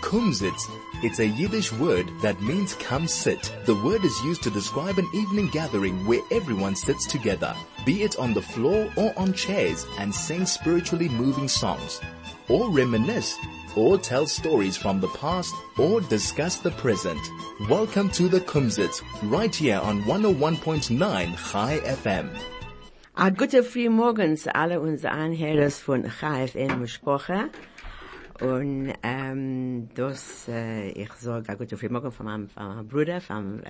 Kumsitz. It's a Yiddish word that means come sit. The word is used to describe an evening gathering where everyone sits together, be it on the floor or on chairs, and sing spiritually moving songs, or reminisce, or tell stories from the past, or discuss the present. Welcome to the Kumsitz, right here on 101.9 Chai FM. A gute Frühmorgen zu alle unsere Anhörer von Chai FM Mishpocha. Und ich sage a gute Frühmorgen von meinem Bruder von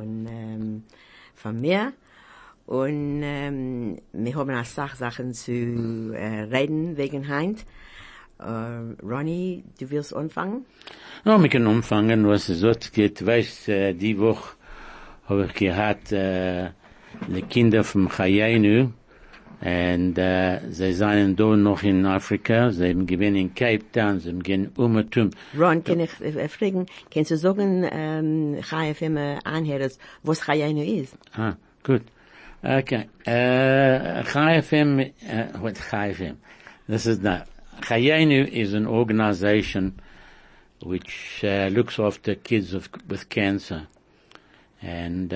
mir. Und wir haben auch Sachen zu reden wegen Heint. Ronnie, du willst anfangen? Ja, wir können anfangen, was es dort geht. Weißt, die Woche habe ich gehabt, die Kinder vom Chayenu, und sie seien da noch in Afrika, sie haben gewesen in Cape Town, sie haben gehen Umatum. Ron, kann ich fragen, kannst du sagen, KFM Anhörers, was Chayenu ist? Ah, gut. Okay. KFM, what KFM? This is not. Chayenu is an organization which looks after kids with cancer. And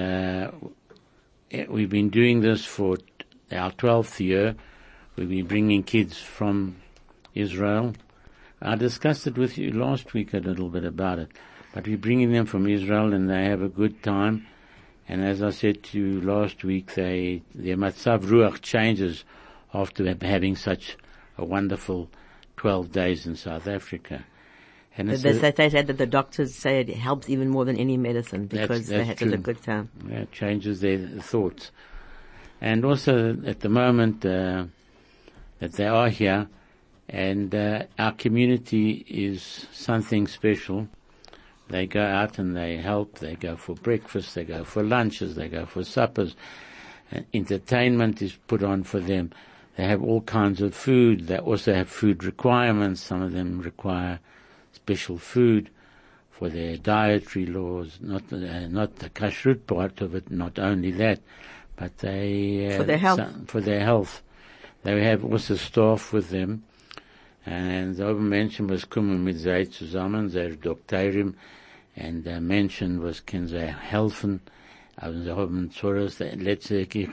we've been doing this for our 12th year. We've been bringing kids from Israel. I discussed it with you last week a little bit about it. But we're bringing them from Israel and they have a good time. And as I said to you last week, their matzav ruach changes after having such a wonderful 12 days in South Africa. And they said that the doctors say it helps even more than any medicine because they had such a good time. Yeah, it changes their thoughts. And also at the moment that they are here, and our community is something special. They go out and they help. They go for breakfast. They go for lunches. They go for suppers. And entertainment is put on for them. They have all kinds of food. They also have food requirements. Some of them require special food for their dietary laws, not the kashrut part of it, not only that, but they, for their health. For their health. They have also staff with them. And the Menschen was kommen mit sei zusammen, der Doktorin, and the Menschen was können sie helfen. Aber sie haben Zorros, ich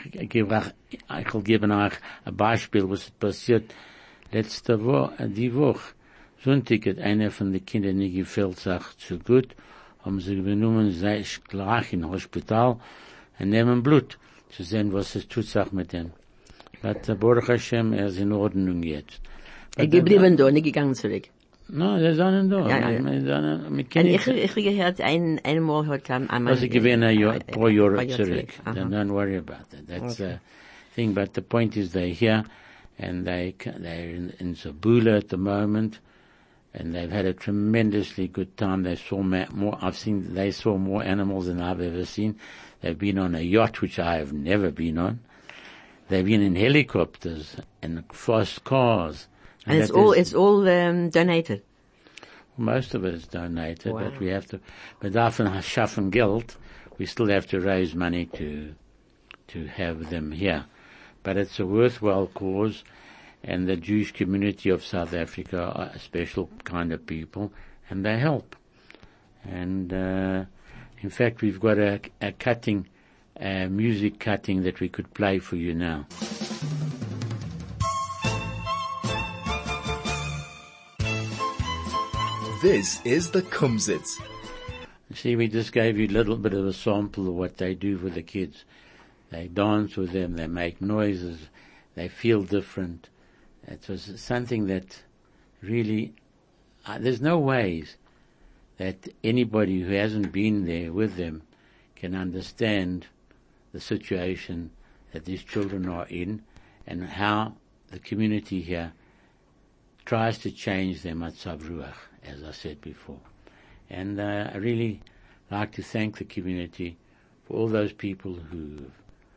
will geben euch ein Beispiel, was passiert letzte Woche, die Woche. Sonntag hat einer von den Kindern nicht gefällt sich zu gut, haben sie genommen, sei gleich in Hospital, und nehmen Blut, zu sehen, was es tut sich mit dem. Aber Baruch Hashem, ist in Ordnung jetzt. Geblieben da, nicht gegangen zurück. No, sie sind da. Ich gehört, einmal hat einmal. Also gewesen ein paar Jahre zurück. Don't worry about that. That's the thing. But the point is they're here, and they're in Zabula at the moment, and they've had a tremendously good time. They saw they saw more animals than I've ever seen. They've been on a yacht, which I have never been on. They've been in helicopters and fast cars. And it's all donated. Most of it is donated, wow. But we have to, davon schaffen Geld, we still have to raise money to have them here. But it's a worthwhile cause, and the Jewish community of South Africa are a special kind of people, and they help. And, in fact, we've got a music cutting that we could play for you now. This is the Kumsitz. See, we just gave you a little bit of a sample of what they do for the kids. They dance with them, they make noises, they feel different. It was something that really, there's no ways that anybody who hasn't been there with them can understand the situation that these children are in and how the community here tries to change their matzav ruach, as I said before. And I really like to thank the community for all those people who've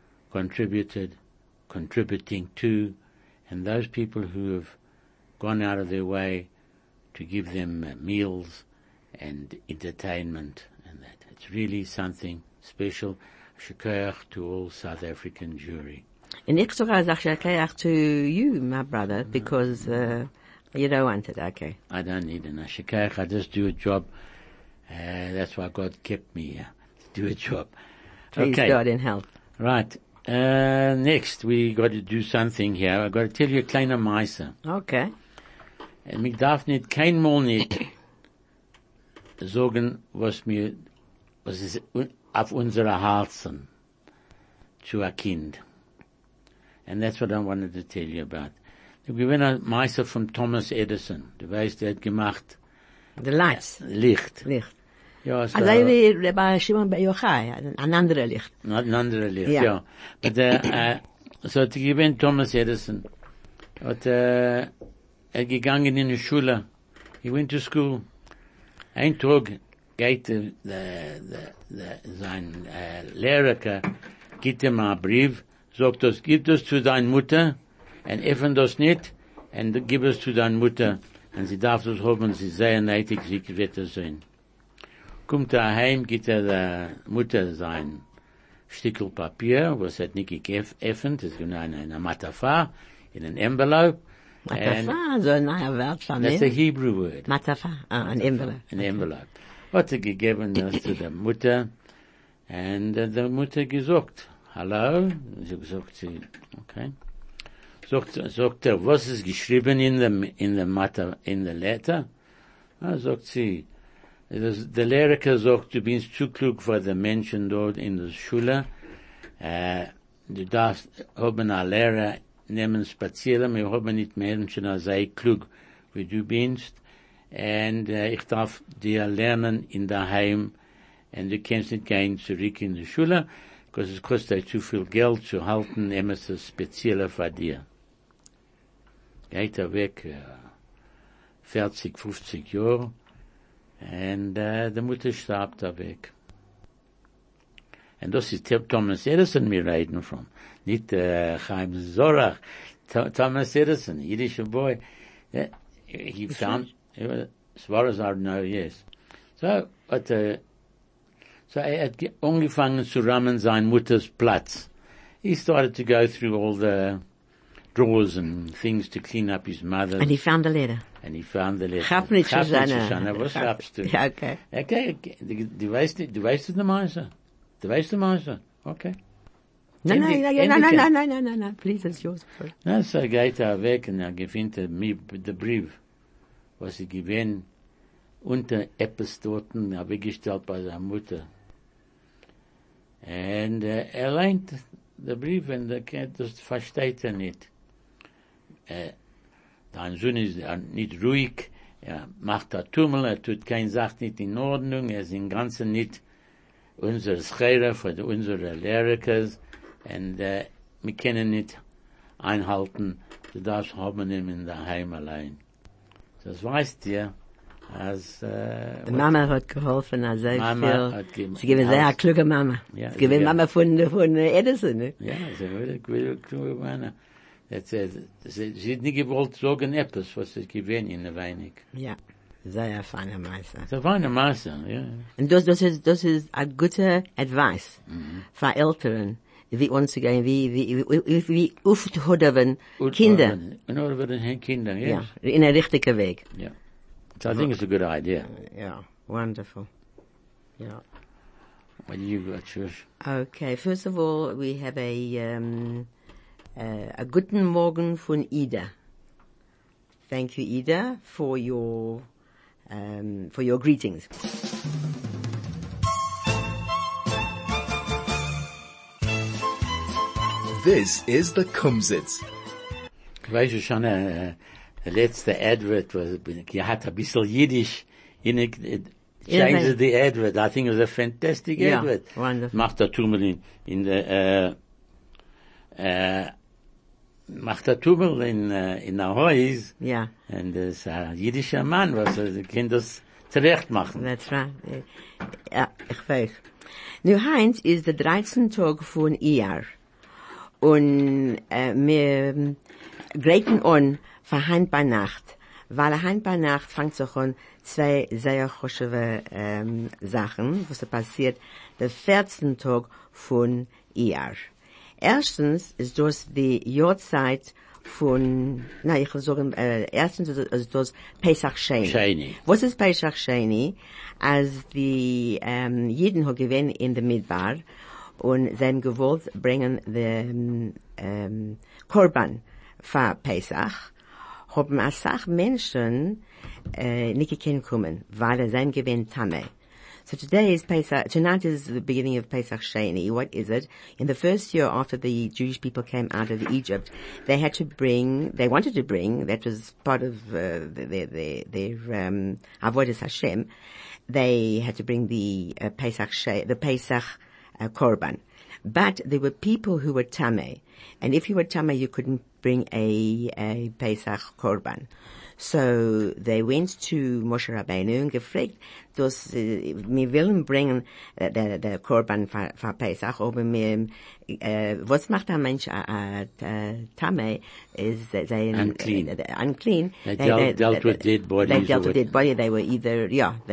contributing to, and those people who have gone out of their way to give them meals and entertainment and that. It's really something special. Shukayach to all South African Jewry. And ich sogar sage Shukayach to you, my brother, because You don't want it, okay. I don't need an ashikach. I just do a job. That's why God kept me here, to do a job. Please Okay. God in help. Right. Next, we got to do something here. I got to tell you a kleiner Meise. Okay. Und ich darf nicht, kein Mal nicht sagen, was ist auf unsere Herzen zu a Kind. And that's what I wanted to tell you about. Ich bin ein Meister von Thomas Edison. Du weißt, der hat gemacht The lights. Licht. Licht. Ja, so, Also wie Rabbi Shimon Bar Yochai, ein anderer Licht. ein anderer Licht, Ja. ja. But, so hat gewinnt Thomas Edison. Hat, gegangen in die Schule. He went to school. Ein Tag geht sein Lehrer, gibt ihm einen Brief, sagt das, gib das zu deiner Mutter, und öffne das nicht, und gib es zu deiner Mutter, und sie darf das haben, sie ist sehr neidig, sie wird das sehen. Kommt heim, gibt der Mutter sein Stückel Papier, was hat nicht geöffnet, das ist eine Matafa, in ein Envelope. Matafa, so ein neuer Wort von mir. That's a Hebrew word. Matafa, ein Envelope. An envelope. Hat gegeben das zu der Mutter, und der Mutter gesagt, hallo, sie gesagt, okay. Sagt was ist geschrieben in der Letter? Sagt sie, der Lehrer sagt, du bist zu klug für die Menschen dort in der Schule, du darfst, haben einen Lehrer nehmen spazieren, wir haben nicht Menschen, sei klug, wie du bist, und ich darf dir lernen in daheim, und du kannst nicht gehen zurück in die Schule, because es kostet dir zu viel Geld zu halten, etwas Spezielles für dir. Geht weg, 40, 50 Jahre, und die Mutter starb da weg. Und das ist Thomas Edison wir reden von. Nicht Chaim Zorach. Thomas Edison, Yiddish boy. He found, as far as I know, yes. So er hat angefangen zu rammen sein Mutters Platz. He started to go through all the drawers and things to clean up his mother. And he found the letter. And he found the letter. Chapnitz Susanne. Was schaffst du? Ja, okay. Okay, du weißt der Meister. Du weißt der Meister. Okay. No, please, it's yours. Na, so geht weg und gewinnt mir den Brief, was ich gewinnt, unter etwas dort, weggestellt bei seiner Mutter. Und leint den Brief und das versteht nicht. Dein Sohn ist nicht ruhig, macht Tummel, tut keine Sache nicht in Ordnung, ist im Ganzen nicht unsere Schere für unsere Lehrer, und wir können nicht einhalten, du darfst haben ihn in der Heim allein. Das weißt ihr, als die Mama hat geholfen, als sehr viel. Sie geben sehr kluge Mama. Ja, sie geben Mama von Edison, ne? Ja, sie wird kluge Mama. Sie hat nicht gewollt sagen etwas, was sie gewinnt in der Weinig. Ja. Sehr feine Meister. Das war eine Masse, ja. Und das ist a gute Advice für Eltern, wie umzugehen, wie aufzuhören Kinder. In order for Kinder, yes. Ja, in a richtigen Weg. Yeah. So I think it's a good idea. Yeah, wonderful. Yeah. What do you got, Shush? Okay, first of all, we have a guten Morgen von Ida. Thank you, Ida, for your greetings. This is the Kumsitz. Ich weiß schon, der letzte Advert was, hat ein bisschen Jiddisch changed the advert. I think it was a fantastic advert. Wonderful. Macht der Tummel in der Haus. Ja. Und das jüdischer Mann, was kann das zurecht machen. That's right. Ja, ich weiß. Nu, Heinz ist der 13. Tag von Iyar. Und wir greifen an für Heint bei Nacht. Weil Heint bei Nacht fängt sich an zwei sehr choschewe Sachen, was passiert der 14. Tag von Iyar. Erstens ist das die Jahrzeit ich will sagen, erstens ist das Pesach Sheni. Sheni. Was ist Pesach Sheni? Als die Jiden haben gewinnt in der Midbar und sie haben gewollt bringen den Korban für Pesach, haben eine Sache Menschen nicht gekannt kommen, weil sie gewinnt Tameh. So today is Pesach, tonight is the beginning of Pesach Sheni. What is it? In the first year after the Jewish people came out of Egypt, they wanted to bring, that was part of their Avodas Hashem, they had to bring the Pesach Korban. But there were people who were Tameh. And if you were Tameh, you couldn't bring a Pesach Korban. So they went to Moshe Rabbeinu und gefragt, dass wir wollen bringen der Korban für Pesach, aber was macht ein Mensch Tameh? Is unclean. They dealt with dead bodies. They were either,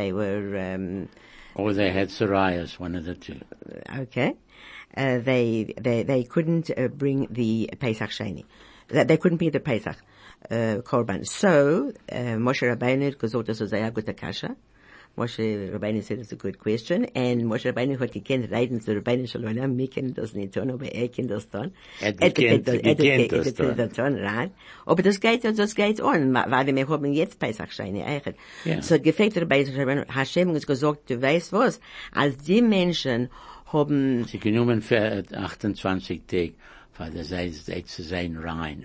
or they had psoriasis, one of the two. Okay. They couldn't bring the Pesach Sheni. They couldn't be the Pesach Korban. So Moshe Rabbeinu gesagt, das ist eine gute Kasche. Moshe Rabbeinu said it's a good question, and Moshe Rabbeinu hat gekannt reden zu Rabbeinu Shalom, wir können das nicht tun, aber kennt das tun. Gekannt das tun, right? Aber das geht on, weil wir haben jetzt Pesach Sheni eigentlich. Yeah. So gefragt Rabbeinu Hashem uns gesagt, du weißt was, als die Menschen haben Sie genommen für 28 Tage, weil das heißt, zu sein rein.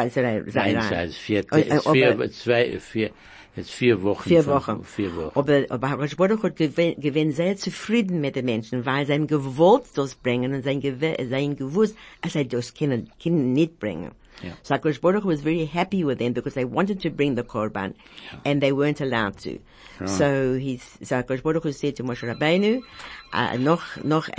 Jetzt 4 Wochen. 4 Wochen. 4 Wochen. Aber Rosh Baruch hat gewinnt sehr zufrieden mit den Menschen, weil sie ihm gewollt das bringen und sie gewusst, dass sie das können nicht bringen. Yeah. So Rosh Baruch was very happy with them because they wanted to bring the Korban, and they weren't allowed to. Right. So Rosh Baruch said to Moshe Rabbeinu, noch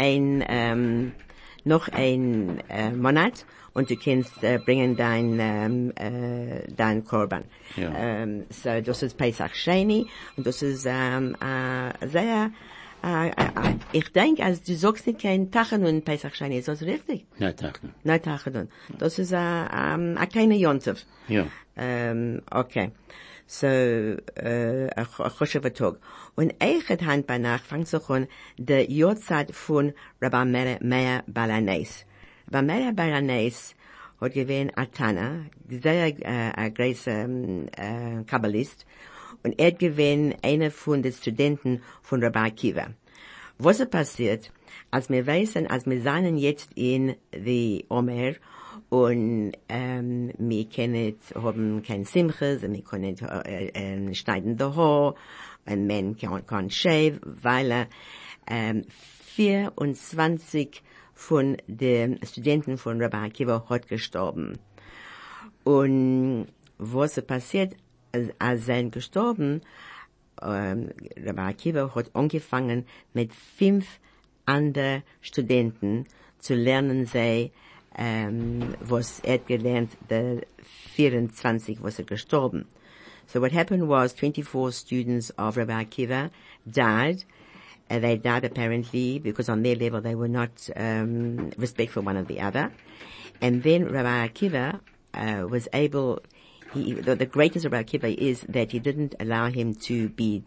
ein Monat, und du kannst bringen dein Korban. Ja. So das ist Pesach Sheni, und das ist sehr, ich denke, als du sagst nicht kein Tachanun Pesach Sheni, ist das richtig? Nein, Tachanun. Nein, Tachanun. Das ist ein kleiner Yontef. Ja. Okay. So, a Choshev Tag. Und Eichet Hand bei Nacht fängt sich an der Jahrzeit von Rabbi Meir Balanes. Rabbi Meir Balanes hat gewähnt Atana, sehr ein großer Kabbalist, und hat gewähnt einer von den Studenten von Rabbi Akiva. Was ist passiert, als wir wissen, als wir seien jetzt in die Omer, und wir können haben kein Simches, und wir können schneiden die Haar, und man kann shave, weil 24 von den Studenten von Rabbi Akiva hat gestorben. Und was ist passiert, als sie gestorben, Rabbi Akiva hat angefangen mit 5 anderen Studenten zu lernen, was gelernt, der 24, was gestorben. So what happened was 24 students of Rabbi Akiva died. They died apparently because on their level they were not respectful one of the other. And then Rabbi Akiva was able, the greatness of Rabbi Akiva is that he didn't allow him to be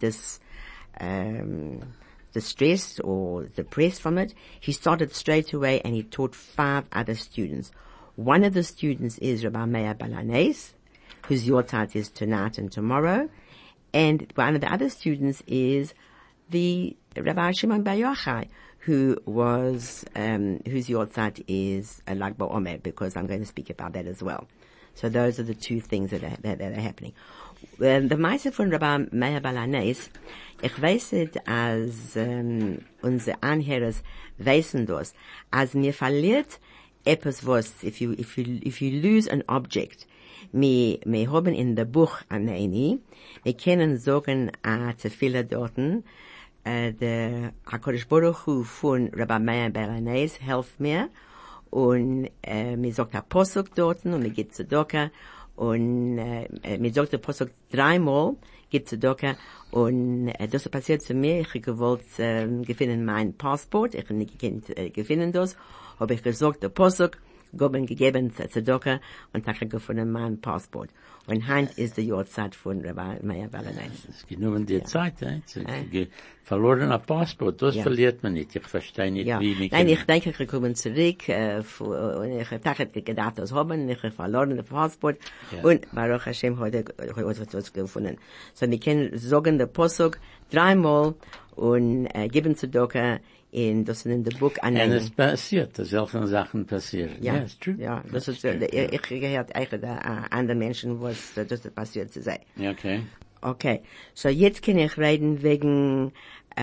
distressed or depressed from it. He started straight away and he taught 5 other students. One of the students is Rabbi Meir Balanes, whose Yortzeit is tonight and tomorrow. And one of the other students is the Rabbi Shimon Bar Yochai, whose Yortzeit is Lag BaOmer, because I'm going to speak about that as well. So those are the 2 things that are happening. The Meise von Rabbi Meir Balanes, ich weiß nicht, als unsere Anhörer wissen das, als mir verliert etwas was, if you lose an object, wir haben in der Buch Aneini, wir können sagen, Tefillah dorten, der HaKadosh Baruch Hu von Rabbi Meir Balanes helft mir, und mir sagt der Posuk dorten, und mir geht zu Doka, und mir sagt der Posuk 3-mal, geht zu Doka, und das ist passiert zu mir, ich gewollt gefunden mein Passport, ich nicht gefunden das, habe ich gesagt der Posuk, gegeben zur Tzedakah und habe gefunden mein Passport. Und Heinz ist die Jahrzeit von Rabbi Meir Balanais. Es geht nur um die Zeit, verlorener Passport, das verliert man nicht. Ich verstehe nicht, wie mich. Nein, ich denke, ich komme zurück, und ich habe gedacht, das haben, ich habe verloren das Passport, und Baruch Hashem heute was gefunden. So, wir können sagen, der Posuk dreimal und geben Tzedakah in the book annehmen. Und es passiert, dass solche Sachen passieren. Ja, it's true. Ja, das ist, ich gehört eigentlich anderen Menschen, was das passiert zu sein. Okay. Okay, so jetzt kann ich reden wegen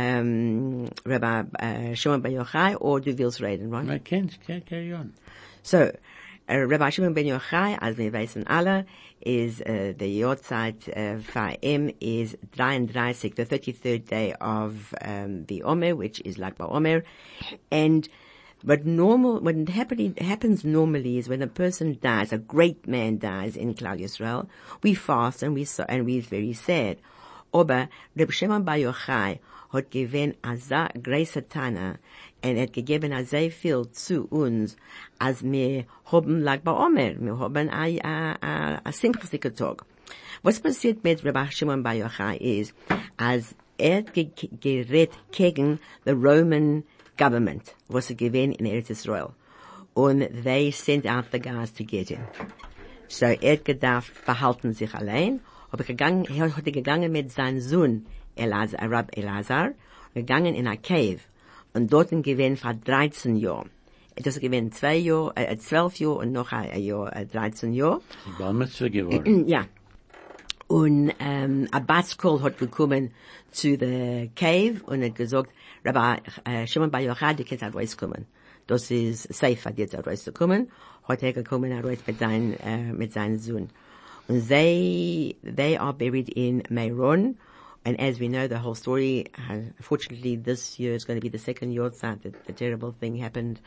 Rabbi Shimon Ben Yochai, oder du willst reden, right? I can't carry on. So, Rabbi Shimon Ben Yochai, als wir wissen alle, is the Yahrzeit for him is 33, the 33rd day of the Omer, which is Lag BaOmer, and what happens normally is when a person dies, a great man dies in Klal Yisrael, we fast and we're very sad. Aber Reb Shimon Bar Yochai hat gewinn a greise Tana und hat gegeben a sehr viel zu uns, als wir haben Lag BaOmer, wir haben a simchsike Tag. Was passiert mit Reb Shimon Bar Yochai ist, als hat gerät gegen the Roman government, was gewesen in Eretz Israel. Und they sent out the guys to get him. So gedacht, behalten sich allein, hat gegangen mit seinem Sohn, Rab Elazar, gegangen in a cave, und dort gewesen für 13 Jahre. Das gewesen 12 Jahre und noch ein Jahr, 13 Jahre. Sie war Mitzvah geworden. Ja. Und a Batskol hat gekommen zu the cave und hat gesagt, Rabbi Shimon Bar Yochai, die kannst rauskommen. Das ist safe, jetzt rauszukommen. Hat gekommen raus mit seinem Sohn. Und they are buried in Meron. And as we know, the whole story, unfortunately, this year is going to be the second year that the terrible thing happened.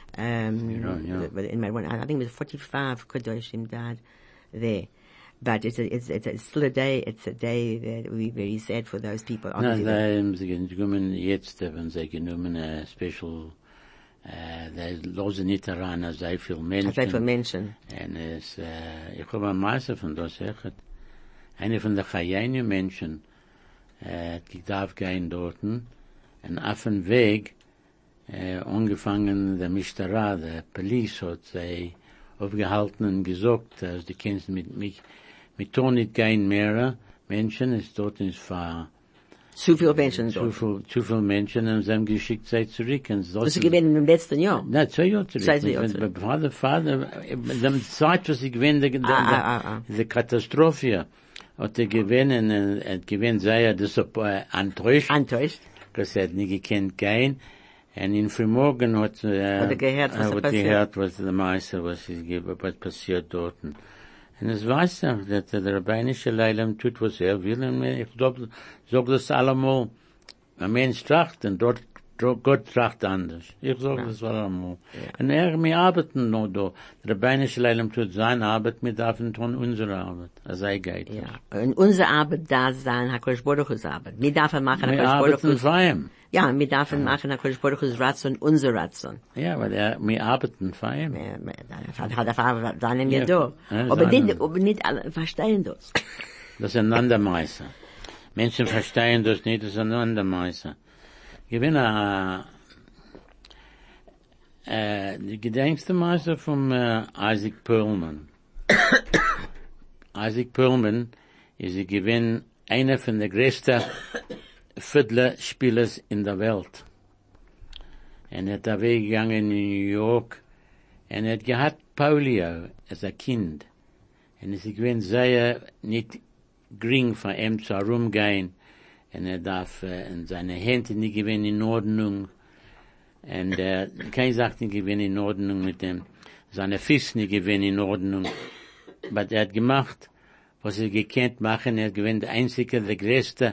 In Meron, I think it was 45 Kedoshim died there. But it's still a day, it's a day that we're very sad for those people. No, sie genommen jetzt, wenn sie genommen special, they losen nicht daran, sehr viel Menschen. Sehr viel Menschen. Und ich habe am meisten von das gesagt, eine von der Chayenu Menschen, die darf gehen dorten, und auf dem Weg, angefangen, der Mishtara, der Police hat sie aufgehalten und gesagt, dass die kennst mit tun nicht gehen mehr Menschen, es dort ist für zu viel Menschen dort. Zu viel Menschen, und sie haben geschickt, sie zurück. Und das ist gewesen im letzten Jahr? Nein, 2 Jahre zurück. Vater, die Zeit, was sie gewinnen, die Katastrophe, hat gewinnen, und gewinnt sei das enttäuscht. Das hat nicht gekannt gehen. Und in Frühmorgen hat gehört, was der Meister, was passiert dort. Und es weiß er, dass der rabbinische Leilam tut, was er will. Und ich sag das allemal, ein Mensch tracht, und dort Gott tracht anders. Ich sag das allemal. Und wir arbeiten noch da. Der rabbinische Leilam tut seine Arbeit, wir dürfen tun unsere Arbeit. Das sei geht. Ja. Und unsere Arbeit da sein, HaKadosh Baruch Hu's Arbeit. Wir dürfen machen HaKadosh Baruch Hu's. Wir arbeiten ja, wir dürfen machen HaKadosh Baruch Hu's Ratzon, unser Ratzon. Ja, weil wir arbeiten für ihn. Da nehmen wir da. Aber nicht alle verstehen das. Das ist ein Andermeister. Menschen verstehen das nicht, das ist ein Andermeister. Ich bin die gedenkste Meister von Isaac Perlman. Isaac Perlman ist einer von der größten Fiddler-Spielers in der Welt. Und er hat da weggegangen in New York, und er hat gehabt Polio als ein Kind. Und es ist sehr nicht gering von ihm zu herumgehen, und er darf in seine Hände nicht gewinnen in Ordnung, und keine Sache nicht gewinnen in Ordnung mit dem, seine Füße nicht gewinnen in Ordnung. Aber er hat gemacht, was er gekannt machen, er gewinnt der einzige, der größte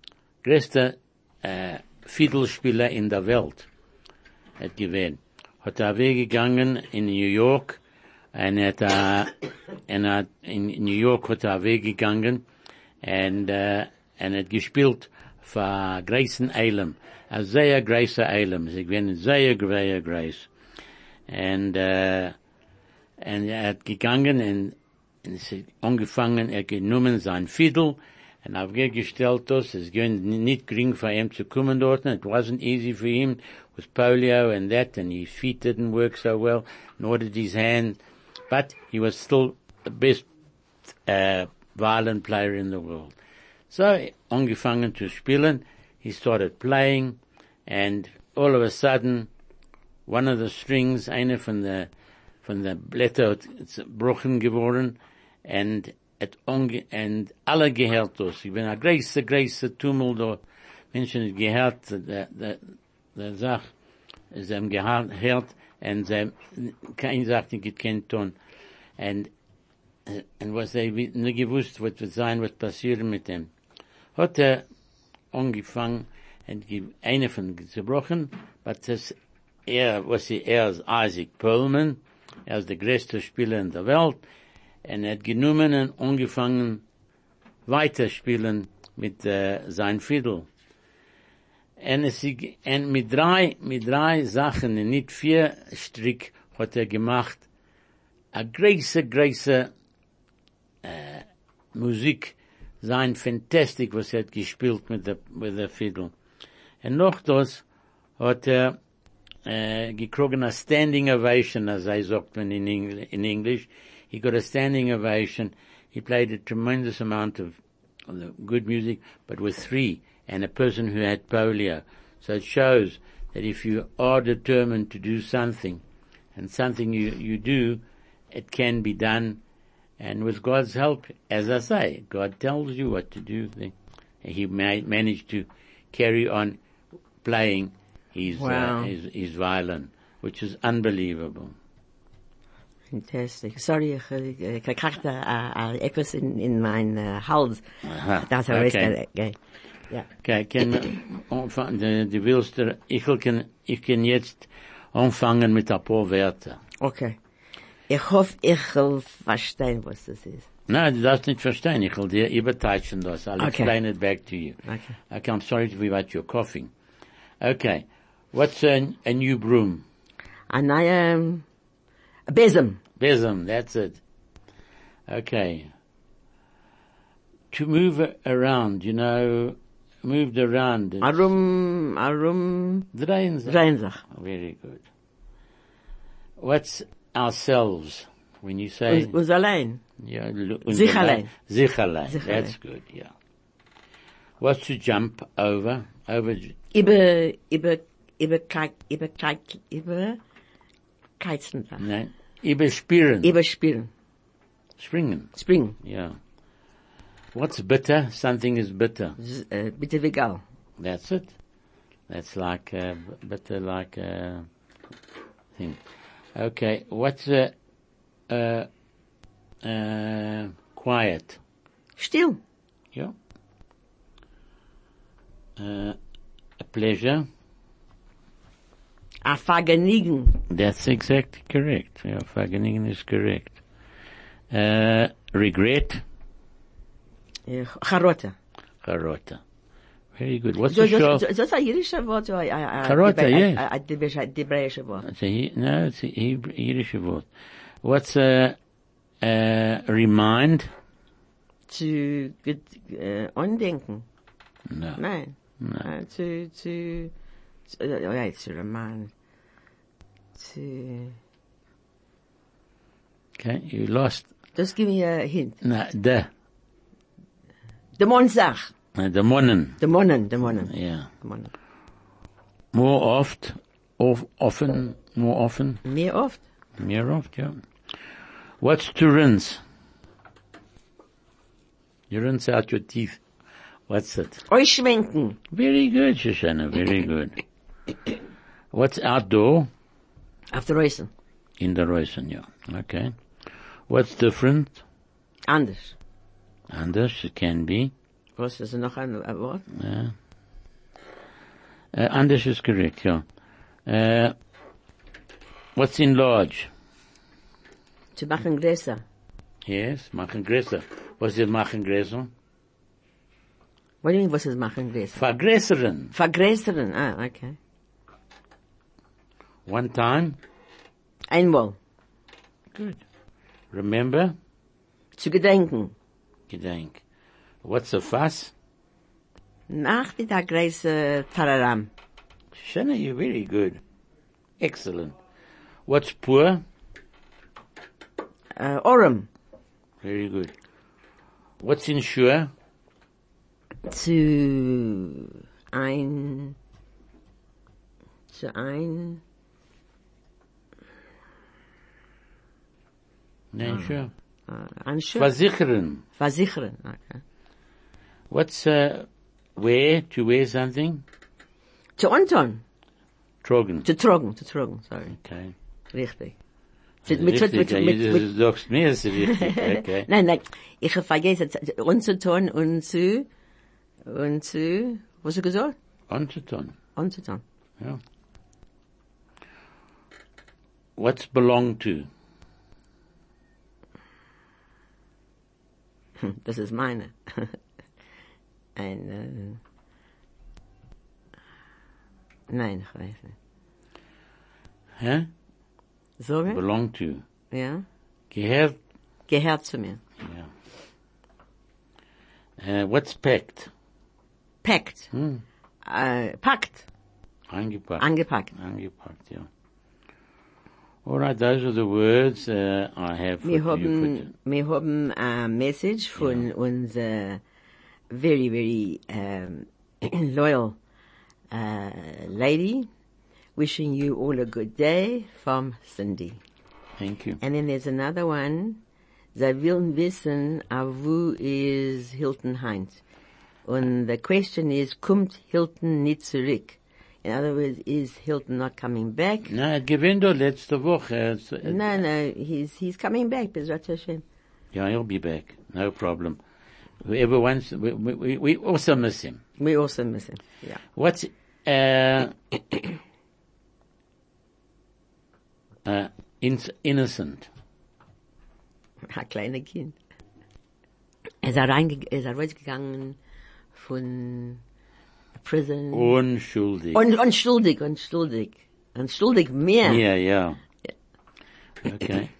Fiddlespieler in der Welt. Hat gewinnt. Hat er weggegangen in New York, und in New York hat er weggegangen, und hat gespielt für Grayson Elam. A sehr Grayson Elam. Sie gewinnen sehr Grace. Und, und hat gegangen und es hat angefangen, genommen sein Fiddle und aufgestellt das. Es ging nicht gering für ihn zu kommen dort. It wasn't easy for him with polio and that, and his feet didn't work so well, nor did his hand, but he was still the best violin player in the world. So, angefangen zu spielen, he started playing, and all of a sudden, one of the strings, eine von der Blätter, it's gebrochen geworden, and alle gehört das. Ich bin a große Tummel da. Menschen haben gehört, der Sach, sie haben gehört, und sie, kein sagt, ich kein Ton. Und was sie nicht gewusst, was wird sein, was passieren mit dem. Hat angefangen, und eine von zerbrochen, aber das, er ist Isaac Perlman, er ist der größte Spieler in der Welt, und er hat genommen und angefangen weiterspielen mit sein Fiddle. Und mit drei Sachen, und nicht 4 Strick, hat er gemacht, a große Musik, sein fantastic, was er hat gespielt mit der Fiddle. Und noch das hat er gekriegt a standing ovation, as I sagt man in English. He got a standing ovation. He played a tremendous amount of good music, but with 3, and a person who had polio. So it shows that if you are determined to do something, and something you do, it can be done, and with God's help, as I say, God tells you what to do. He managed to carry on playing his violin, which is unbelievable. Fantastic. Sorry, ich kriegte etwas in mein Hals. Das okay. Ja. Okay, du willst, ich kann jetzt anfangen mit ein paar Wörter. Okay. Ich hoffe, ich will verstehen, was das ist. No, du darfst nicht verstehen. Ich will dir übertreiben das. I'll explain it back to you. Okay, I'm sorry to be about your coughing. Okay. What's a new broom? A neue Besem. Besem, that's it. Okay. To move around, moved around. Drehen sich. Very good. What's ourselves? When you say... Uns allein. Yeah, Sich allein. Sich allein. That's good, yeah. What's to jump over? Keizen. Nein. Überspringen. Springen. Yeah. What's bitter? Something is bitter. Bitter wie Gall. That's it. That's like, bitter like, thing. Okay. What's quiet? Still. Yeah. A pleasure. A Vergnügen. That's exactly correct. Yeah, Vergnügen is correct. Regret. Charota. Very good. What's the show? That's a Yiddish word. Charota, yes. A Hebrewish word. It's a Yiddish word. What's remind? Zu andenken. No. Nein. No. To remind. Okay, you lost. Just give me a hint. No, the Monsach. The Monnen. The Monnen. Yeah. The Monnen. More often. Mehr oft. Yeah. What's to rinse? You rinse out your teeth. What's it? Ausschwenken. Very good, Shoshana, very good. What's outdoor? Auf der Reusen. In the Reusen, yeah. Okay. What's different? Anders. Anders, it can be. Was ist noch ein Wort? Yeah. Anders is correct, yeah. What's enlarge? Zu machen größer. Yes, machen größer. Was ist machen größer? What do you mean, was ist machen größer? Vergrößern. Vergrößern, okay. One time? Einmal. Good. Remember? Zu gedenken. Gedenk. What's a fuss? Nach wie der große Tararam. Shana, you're very good. Excellent. What's poor? Orem. Very good. What's insure? Zu ein, No, insure. anschauen. Versichern. Versichern. Okay. What's, wear? To wear something? Zu anton. Trogen. Zu tragen, sorry. Okay. Richtig. Richtig, du sagst mir, ist richtig, okay. Nein, ich habe vergessen, anzuton und zu, was hast du gesagt? Anzuton. Anzuton. Yeah. What's belong to? Das ist meine. Nein, ich weiß nicht. Huh? Sorge? Belong to. Ja? Gehört. Gehört zu mir. Yeah. What's packed? Packt. Packt. Angepackt. Angepackt. Angepackt, yeah. All right, those are the words I have for you. Wir haben a message von unserer very, very loyal lady, wishing you all a good day from Cindy. Thank you. And then there's another one. Sie wollen wissen, wo ist Hilton Heinz? And the question is, kommt Hilton nicht zurück? In other words, is Hilton not coming back? No, it gewinnt doch letzte Woche. No, he's coming back, Bezrat Hashem. Yeah, he'll be back. No problem. Whoever wants, we also miss him. We also miss him, yeah. What's, innocent? Ein kleiner Kind. Er ist rausgegangen von prison. Unschuldig. Unschuldig mehr. Yeah. Okay.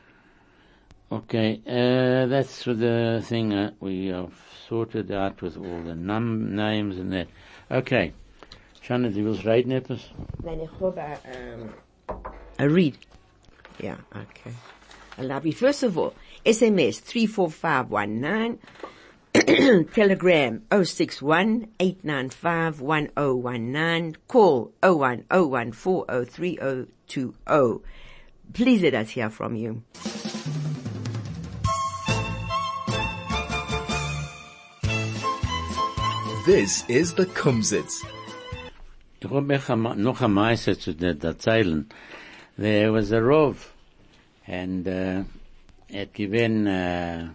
Okay, that's the thing we have sorted out with all the names and that. Okay. Shana, du willst reden etwas? Nein, ich habe a read. Yeah, okay. I love you. First of all, SMS 34519, Telegram 061-895-1019, call 0101403020. Please let us hear from you. This is the Kumsitz. Ich habe noch ein Meister zu erzählen. There was a Rov, and hat gedacht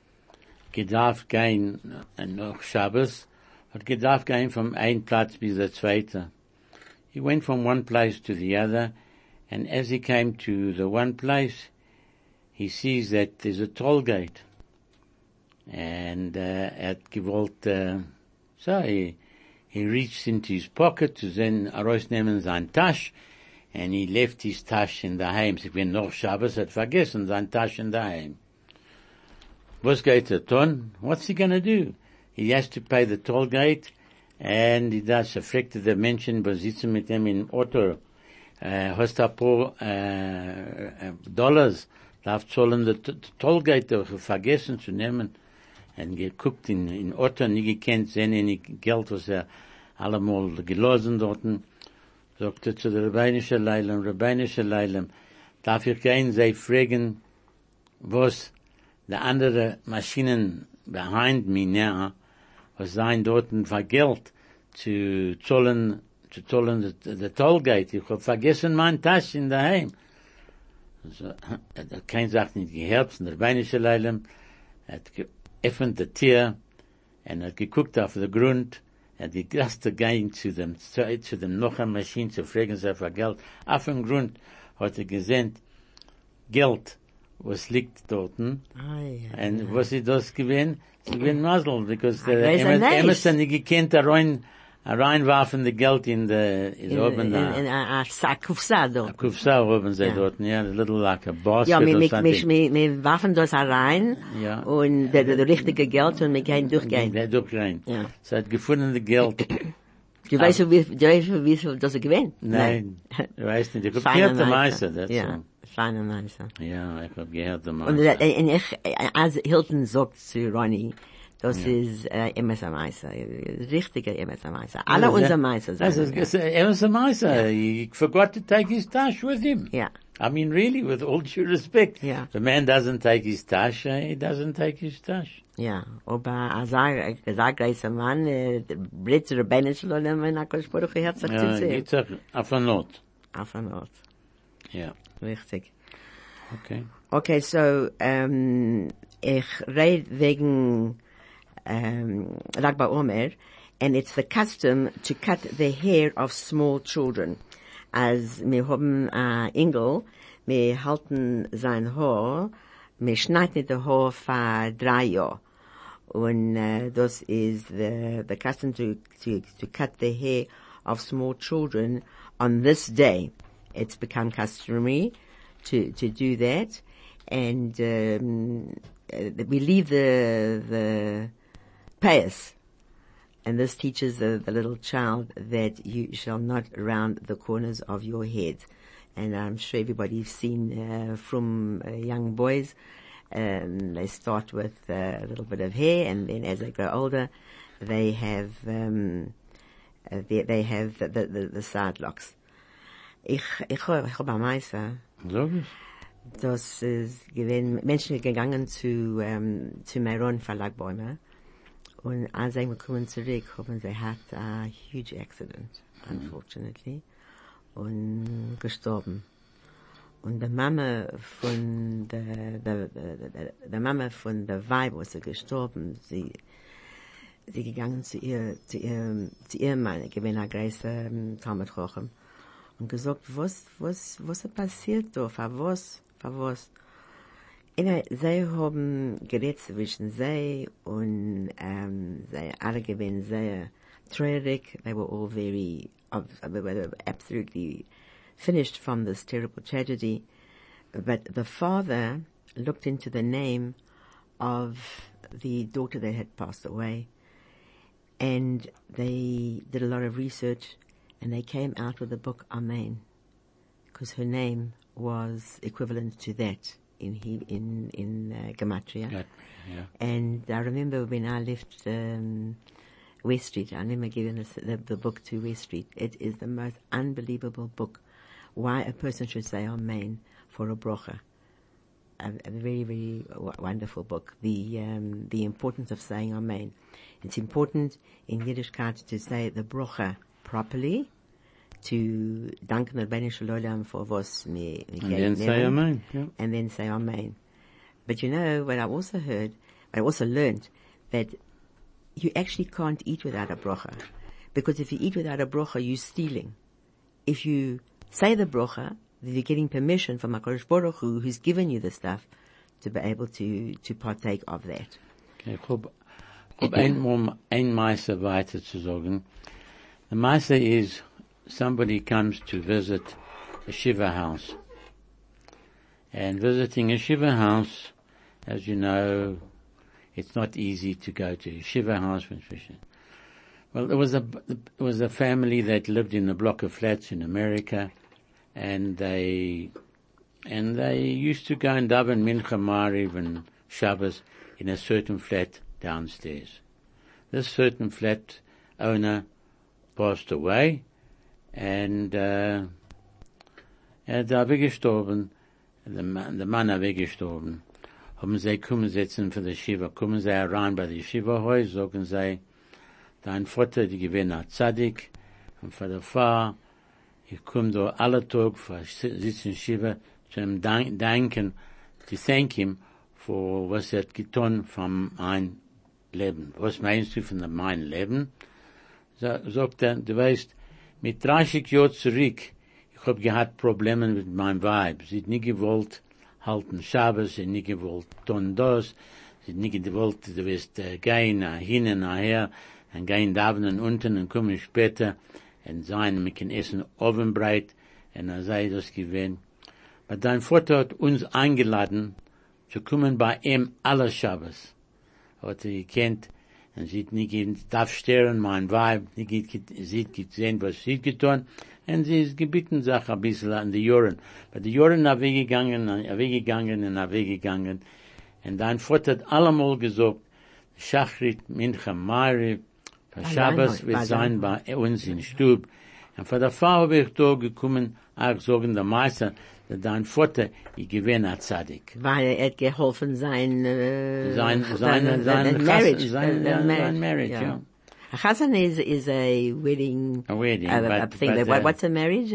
gehen noch Shabbos, hat gedacht gehen vom einen Platz bis der zweite. He went from one place to the other, and as he came to the one place, he sees that there's a toll gate. And hat gewollt, so he reached into his pocket to then herausnehmen sein Tasch, and he left his Tasch in the Heim. So when noch Shabbos hat vergessen sein Tasch in the Heim. Was geht tun? What's he gonna do? He has to pay the toll gate, and he does fragte der Menschen, was sitzen mit dem im Auto, hast ein paar Dollars, darf zahlen the toll gate, vergessen zu nehmen, und geguckt in Auto, nie gekannt, sehen any Geld, was allemal gelassen dorten. Sagte zu der Rabbinische Leilem, darf ich gehen, sie fragen, was die andere Maschinen behind me now, was seien dort für Geld zu zahlen the Tollgate. Ich hab vergessen mein Tasch in daheim. Also, hat kein Sache nicht gehört, von der Rabbinische Leilem, hat geöffnet die Tür, und hat geguckt auf den Grund, and die erste gehen zu dem noch eine Maschine zu fragen, sie für Geld. Auf dem Grund hat gesehen, Geld, was liegt dort. Und was ist das gewesen? Sie gewesen Masel, because Emerson nicht gekannt rein reinwerfen the Geld in oben da. In a sack, Kufsa, do. Kufsa oben sie dort, ja, a little like a basket Ja, or something. wir werfen das herein, Ja. und der richtige Geld, und wir gehen durchgehen. Der durchgehen. Ja. So hat gefunden the Geld. Du weißt, wie viel das gewinnt? Nein. Du weißt nicht, ich hab Feine gehört der Meister. Meister, that's Ja, all. feine Meister. Ja, ich hab gehört der Und Meister. als Hilton sagt zu Ronnie, das ist immer Meister, richtiger immer Meister. Alle unsere Meister sagen. Er was a Meister. He forgot to take his tash with him. Ja. I mean, really, with all due respect. Yeah. The man doesn't take his tash, he doesn't take his tash. Ja, aber als großer Mann, Britz Rebbeinu Shalom, und HaKadosh Baruch Hu hat sich zu Ja, sehen. it's auf a note. Auf ein Ort. Ja. Richtig. Okay. Okay, so, ich rede wegen, Lag BaOmer, and it's the custom to cut the hair of small children. Als wir haben Engel, wir halten sein Haar, wir schneiden das Haar für 3 Jahre. Und das ist the custom to cut the hair of small children on this day. It's become customary to do that. And we leave the payas. And this teaches the little child that you shall not round the corners of your head. And I'm sure everybody's seen from young boys, they start with a little bit of hair, and then as they grow older, they have the side locks. Ich hab am Meister. So ist. Das ist gewesen, Menschen gegangen zu Meron Verlagbäume. Und als sie kommen zurück, haben sie hat a huge accident, unfortunately, und gestorben. Und die Mama von der Mama von der Weib, was sie gestorben, sie gegangen zu ihrem Mann, gewesen ein großer Talmud Chochem, und gesagt, was ist passiert da, für was? Sie haben geredet zwischen sie und sie alle gewesen sehr traurig. They were all they were absolutely finished from this terrible tragedy. But the father looked into the name of the daughter that had passed away, and they did a lot of research, and they came out with the book Amen, because her name was equivalent to that in Gematria. Yeah. And I remember when I left West Street, I remember giving the book to West Street. It is the most unbelievable book. Why a person should say Amen for a brocha. A very, very wonderful book. The importance of saying Amen. It's important in Yiddishkeit to say the brocha properly, to danken Rebbeinu Shalom for was me And then say Amen. Yeah. and then say Amen. But you know what I also learned, that you actually can't eat without a brocha. Because if you eat without a brocha, you're stealing. If you say the brocha, then you're getting permission from HaKadosh Baruch Hu, who's given you the stuff, to be able to partake of that. Okay, ich hab ein Meister weiter zu sagen. The Meister is somebody comes to visit a Shiva house. And visiting a Shiva house, as you know, it's not easy to go to a Shiva house. Well, there was a family that lived in a block of flats in America, and they used to go and daven Mincha, Mariv, and Shabbos in a certain flat downstairs. This certain flat owner passed away, and er ist weggestorben, der Mann ist weggestorben. Haben sie kommen sitzen für die Shiva, kommen sie herein bei die Shiva-Haus, sagen sie, dein Vater, die gewinnt ein Tzadik, und für die Frau, ich komme da alle Tag für sitzen Shiva, zu ihm danken, to thank him for was er hat getan von mein Leben. Was meinst du von mein Leben? Sagt er, du weißt, mit 30 Jahren zurück, ich hab gehabt Probleme mit meinem Weib. Sie hat nie gewollt halten Shabbos, sie hat nie gewollt tun das, sie hat nie gewollt, du weißt, gehen hin und her, und gehen davenen unten und kommen später und sein, wir können essen Ovenbreit und er sei das gewesen. Aber dein Vater hat uns eingeladen, zu kommen bei ihm alle Shabbos. Hat gekannt, und sie hat nicht darf stören, mein Weib, sie hat gesehen, was sie getan, und sie ist gebeten, sich ein bisschen an die Jahren. Aber die Jahren sind weggegangen, und dein Vater hat allemal gesagt, Shachrit, Mincha, Mari, Shabbos wird sein bei uns in Stub. Und von der Frau habe ich da gekommen, auch sagen der Meister, dass dein Vater, ich gewinne ein Tzadik. Weil er hat geholfen sein marriage, ja. A chazan is a wedding. A wedding, thing. What's a marriage?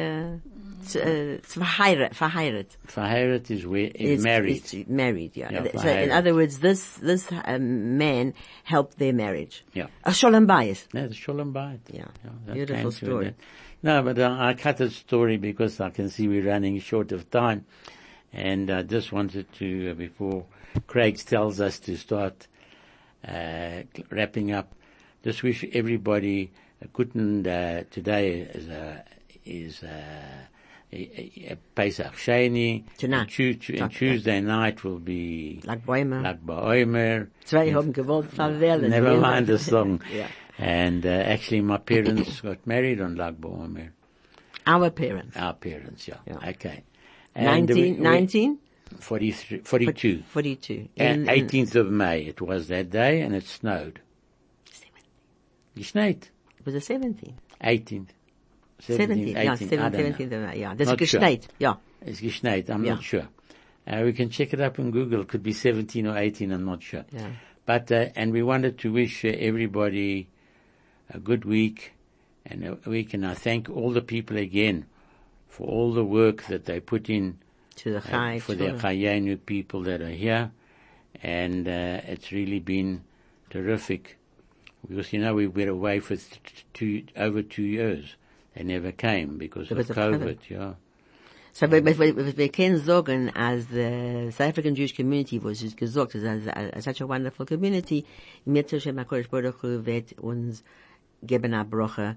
Verheiratet. Verheiratet is married. It's married, yeah. Yeah, So in other words, this man helped their marriage. Yeah. A sholem bayis. Yeah, the Sholem Bayit. Yeah. that Beautiful came to story. that. No, but I cut the story because I can see we're running short of time. And I just wanted to, before Craig tells us to start wrapping up, just wish everybody a good today is a Pesach Sheni. Tonight. And Tuesday night will be Lag Bäumer. Lag Ba'omer. Zwei haben gewollt verwählen. Never mind the song. Yeah. And actually my parents got married on Lag Ba'omer. Our parents. Our parents, yeah. Yeah. Okay. And 19? 42. 42. And 18th of May, it was that day, and it snowed. Geschneit. It was the 17th. 18th. 17th, 18th, yeah, I don't 17th, know. yeah. Das Not ist sure. geschneit, yeah. It's geschneit, I'm Yeah. not sure. We can check it up on Google. It could be 17 or 18, I'm not sure. Yeah. But, and we wanted to wish everybody a good week, and I thank all the people again for all the work that they put in To the Chai. for the Chayenu people that are here, and it's really been terrific. Because, we were away for over 2 years. They never came because of COVID, yeah. So, we can sagen, as the South African Jewish community was just gesagt, as such a wonderful community, mir zu Shem HaKodesh Baruch Hu wird uns geben a Broche,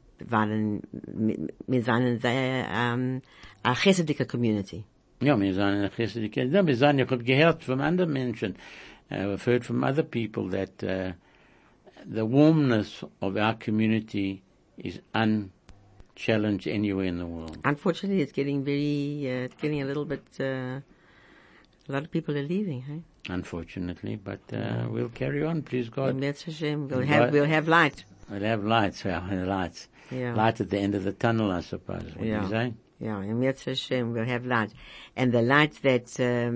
wir sind sehr, a chesedike community. Ja, wir sind eine Chesed. Ich habe gehört von anderen Menschen, I've heard from other people that the warmness of our community is unchallenged anywhere in the world. Unfortunately, it's getting it's getting a little bit, a lot of people are leaving, hey? Unfortunately, but we'll carry on, please God. Mirz Hashem, we'll have light. We'll have lights, lights. Yeah. Light at the end of the tunnel, I suppose. What do you say? Yeah, in Mirz Hashem, we'll have light. And the light that,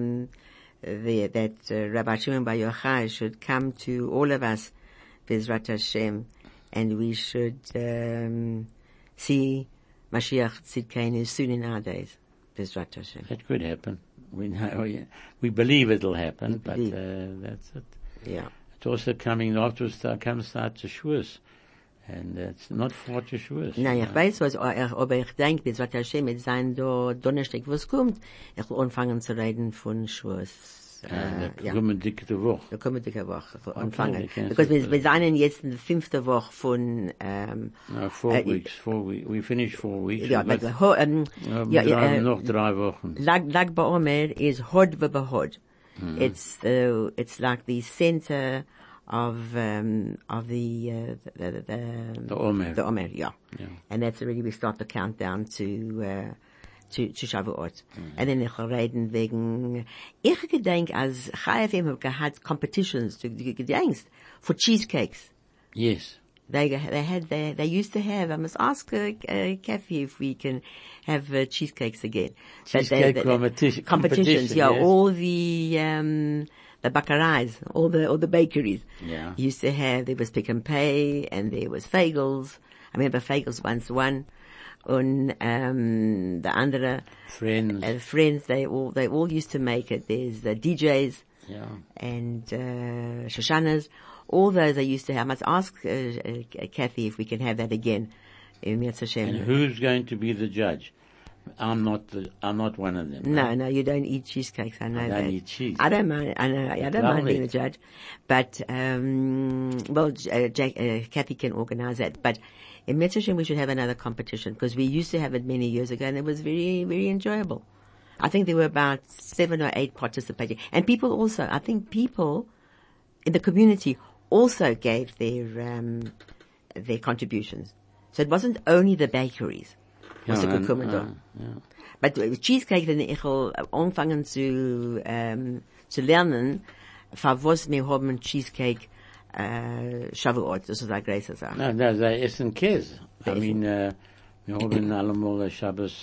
Rabbi Shimon Bar Yochai should come to all of us, Bezrat Hashem, and we should, see Mashiach Tzidkenu soon in our days. Bezrat Hashem. That could happen. We believe it'll happen, but that's it. Yeah. It's also coming afterwards, comes out to Shavuos. And it's not far to Shavuos. Nein, ich weiß was, aber ich denke, Bezrat Hashem, mit sein Donnerstag, was kommt, ich will anfangen zu reden von Shavuos. Da kommen dicke Woche. Da kommen dicke Woche anfangen. Okay, Because wir sind jetzt in der 5. Woche von, 4 weeks. We finished 4 weeks. ja, noch 3 Wochen. Lag Ba'omer is Hod v'Bahod. It's like the center of the Omer. The Omer, yeah. Yeah. And that's already, we start the countdown to Shavuot. And then ich reden wegen, ich gedenk, als Chai FM had competitions, du gedenkst, for cheesecakes. Yes. They used to have, I must ask Kathy if we can have cheesecakes again. Cheesecake competitions, yeah, yes. all the bakarais, all the bakeries. Yeah. Used to have, there was Pick and Pay, and there was Fagels. I remember Fagels once won. And, the andere, friends, they all used to make it. There's the DJs. Yeah. And, Shoshanas. All those I used to have. I must ask, Kathy if we can have that again. And who's going to be the judge? I'm not one of them. No, you don't eat cheesecakes. I know I that. don't eat cheese. I don't mind. I know. I don't Love mind being it. a judge, but Kathy can organize that. But in Mitzvah we should have another competition because we used to have it many years ago, and it was very, very enjoyable. I think there were about 7 or 8 participating, and people also. I think people in the community also gave their contributions. So it wasn't only the bakeries. Was Ja, gekommen da. ja. But Cheesecake, wenn ich will anfangen zu lernen, für was wir haben Cheesecake, Shavuot, das ist eine große Sache. No, they essen Käse. I mean, wir haben allemal Shabbos,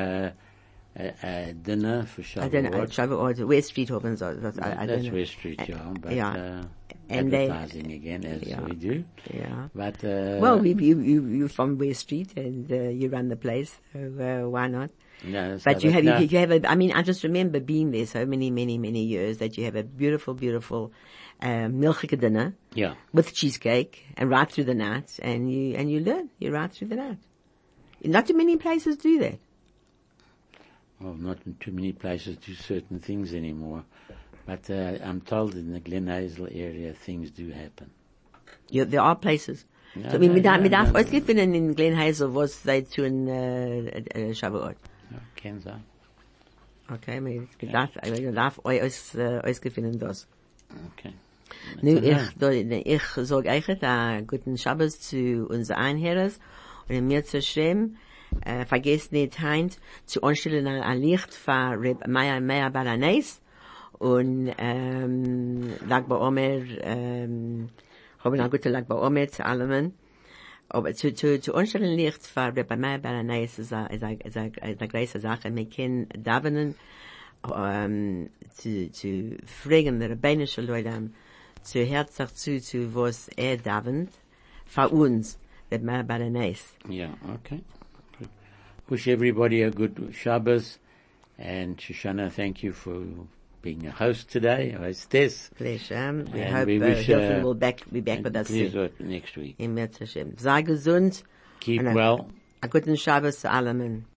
dinner for I don't know, Shavuot. Shavuot, West Street haben so, I don't That's know. West Street, yeah, but, Yeah. And they- advertising again, as Yeah. we do. Yeah. But, Well, you're from West Street and, you run the place, so, why not? no, But so you no. have I mean, I just remember being there so many, many, many years that you have a beautiful, beautiful, milchige dinner. Yeah. With cheesecake and right through the night, and you learn. You're right through the night. Not too many places do that. Well, not in too many places do certain things anymore. But, I'm told in the Glen Hazel area things do happen. There are places. Ja, So, wir ja, darf ja. ausgefunden in Glen Hazel, was they tun, Shavuot. Ja, kann sein. Okay, wir darf ausgefunden das. Okay. Nu, That's ich sag euch, guten Shabbos zu unseren Einherres und mir zu schreiben, vergesst nicht, Heinz, zu anstellen ein Licht für Reb Meir Balanes und, Lag BaOmer, haben eine gute Lag BaOmer zu allem. Aber zu anstellen Licht für Reb Meir Balanes ist eine große Sache. Wir können davenen, zu fragen, der Rabbinische Leute, zu herzlich zu was davent, für uns, Reb Meir Balanes. Yeah, okay. Good. Wish everybody a good Shabbos. And Shoshana, thank you for being a host today, hostess. Pleasure. We And hope we wish, Hilton will be back and with us please soon. next week. Im März Hashem. Sei gesund. Keep Und well. a guten Shabbos zu allen.